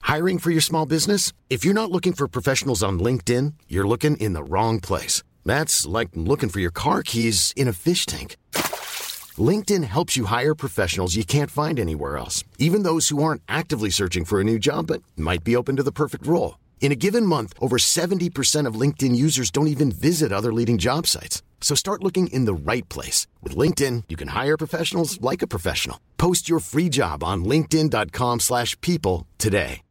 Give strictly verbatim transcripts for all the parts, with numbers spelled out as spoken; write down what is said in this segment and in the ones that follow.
Hiring for your small business? If you're not looking for professionals on LinkedIn, you're looking in the wrong place. That's like looking for your car keys in a fish tank. LinkedIn helps you hire professionals you can't find anywhere else, even those who aren't actively searching for a new job but might be open to the perfect role. In a given month, over seventy percent of LinkedIn users don't even visit other leading job sites. So start looking in the right place. With LinkedIn, you can hire professionals like a professional. Post your free job on linkedin.com slash people today.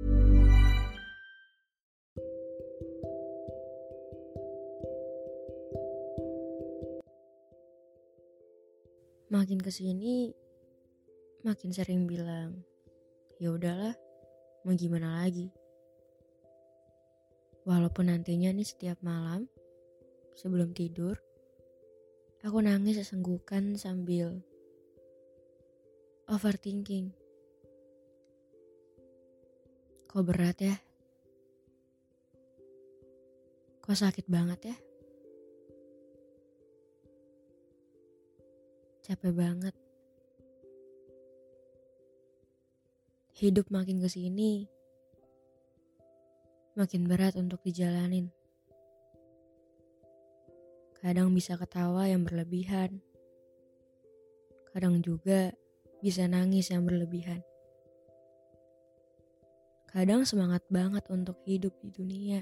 Makin kesini, makin sering bilang, ya udahlah, mau gimana lagi. Walaupun nantinya nih setiap malam, sebelum tidur, aku nangis sesenggukan sambil overthinking. Kok berat ya? Kok sakit banget ya? Capek banget. Hidup makin kesini, makin berat untuk dijalanin. Kadang bisa ketawa yang berlebihan. Kadang juga bisa nangis yang berlebihan. Kadang semangat banget untuk hidup di dunia.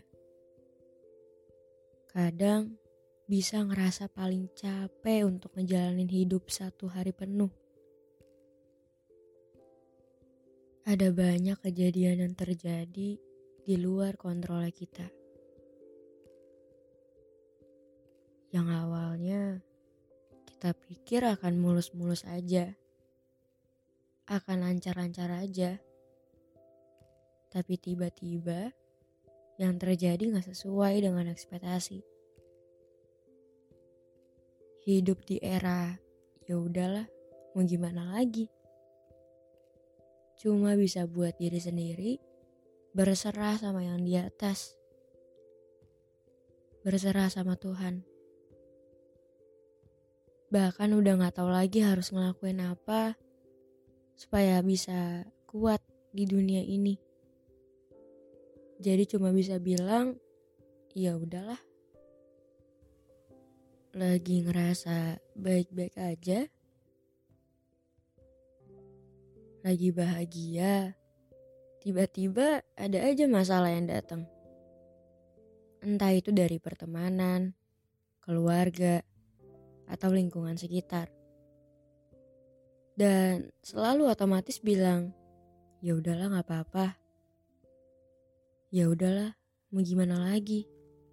Kadang bisa ngerasa paling capek untuk ngejalanin hidup satu hari penuh. Ada banyak kejadian yang terjadi di luar kontrol kita. Yang awalnya kita pikir akan mulus-mulus aja, akan lancar-lancar aja. Tapi tiba-tiba yang terjadi gak sesuai dengan ekspektasi. Hidup di era ya udahlah, mau gimana lagi? Cuma bisa buat diri sendiri, berserah sama yang di atas, berserah sama Tuhan. Bahkan udah gak tahu lagi harus ngelakuin apa supaya bisa kuat di dunia ini. Jadi cuma bisa bilang, ya udahlah. Lagi ngerasa baik-baik aja, lagi bahagia, tiba-tiba ada aja masalah yang datang. Entah itu dari pertemanan, keluarga, atau lingkungan sekitar. Dan selalu otomatis bilang, ya udahlah gak apa-apa. Ya udahlah, mau gimana lagi?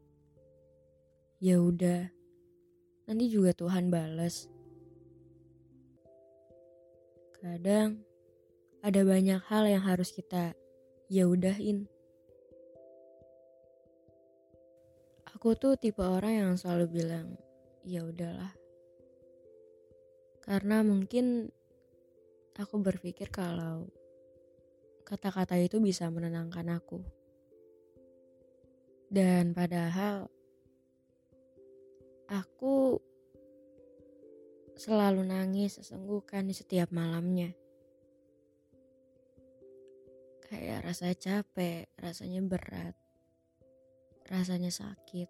Ya udah, nanti juga Tuhan balas. Kadang ada banyak hal yang harus kita ya udahin. Aku tuh tipe orang yang selalu bilang, ya udahlah. Karena mungkin aku berpikir kalau kata-kata itu bisa menenangkan aku. Dan padahal aku selalu nangis sesenggukan di setiap malamnya. Kayak rasa capek, rasanya berat, rasanya sakit.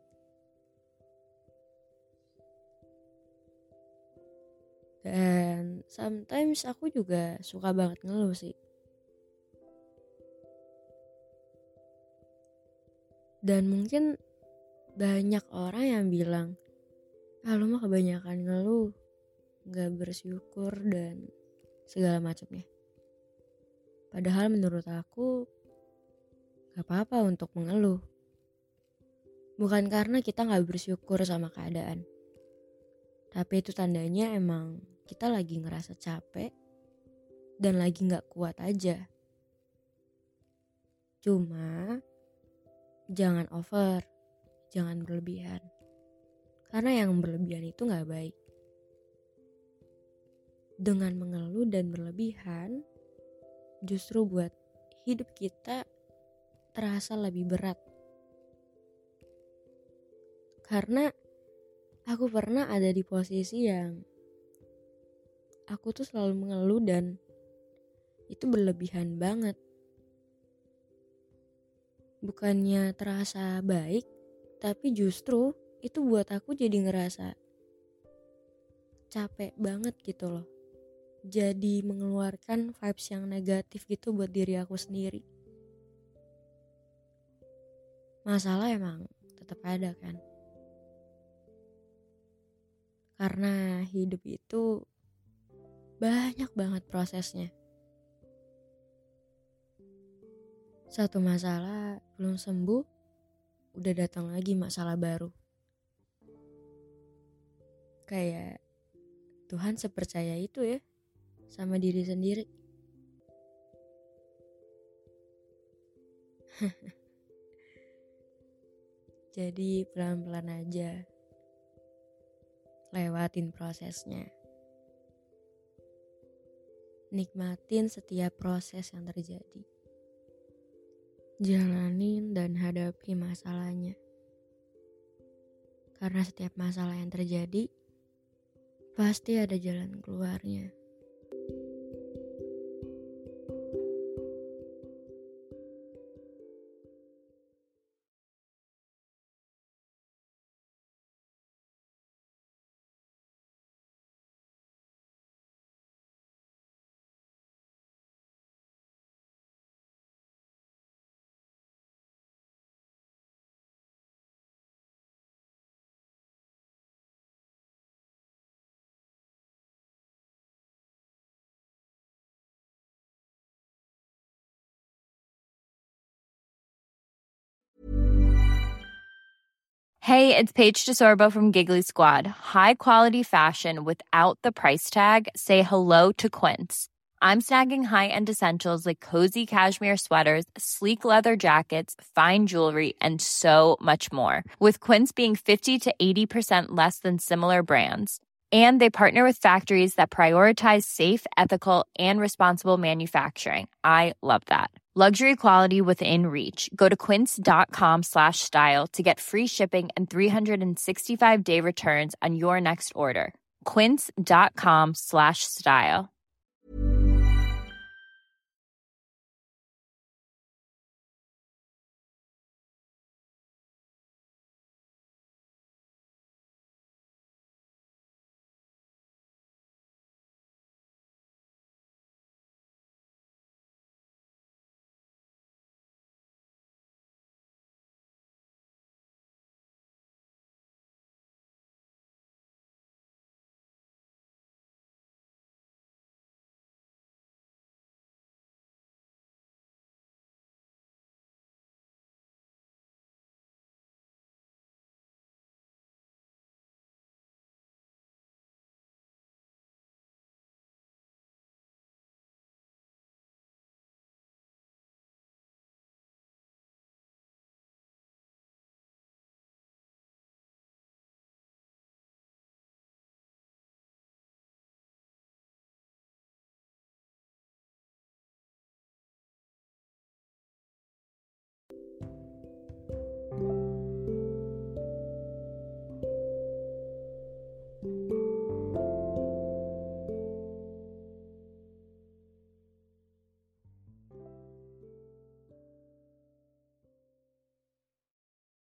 Dan sometimes aku juga suka banget ngeluh sih. Dan mungkin banyak orang yang bilang, ah lu mah kebanyakan ngeluh, gak bersyukur dan segala macamnya. Padahal menurut aku gak apa-apa untuk mengeluh. Bukan karena kita gak bersyukur sama keadaan. Tapi itu tandanya emang kita lagi ngerasa capek dan lagi gak kuat aja. Cuma jangan over, jangan berlebihan. Karena yang berlebihan itu gak baik. Dengan mengeluh dan berlebihan, justru buat hidup kita terasa lebih berat. Karena aku pernah ada di posisi yang aku tuh selalu mengeluh dan itu berlebihan banget. bukannya terasa baik, tapi justru itu buat aku jadi ngerasa capek banget gitu loh. Jadi mengeluarkan vibes yang negatif gitu buat diri aku sendiri. Masalah emang tetap ada kan. Karena hidup itu banyak banget prosesnya. Satu masalah belum sembuh, udah datang lagi masalah baru. Kayak Tuhan sepercaya itu ya sama diri sendiri. Jadi pelan-pelan aja lewatin prosesnya. Nikmatin setiap proses yang terjadi. Jalanin dan hadapi masalahnya. Karena setiap masalah yang terjadi pasti ada jalan keluarnya. Hey, it's Paige DeSorbo from Giggly Squad. High quality fashion without the price tag. Say hello to Quince. I'm snagging high-end essentials like cozy cashmere sweaters, sleek leather jackets, fine jewelry, and so much more. With Quince being fifty to eighty percent less than similar brands. And they partner with factories that prioritize safe, ethical, and responsible manufacturing. I love that. Luxury quality within reach. Go to quince.com slash style to get free shipping and three sixty-five day returns on your next order. Quince.com slash style.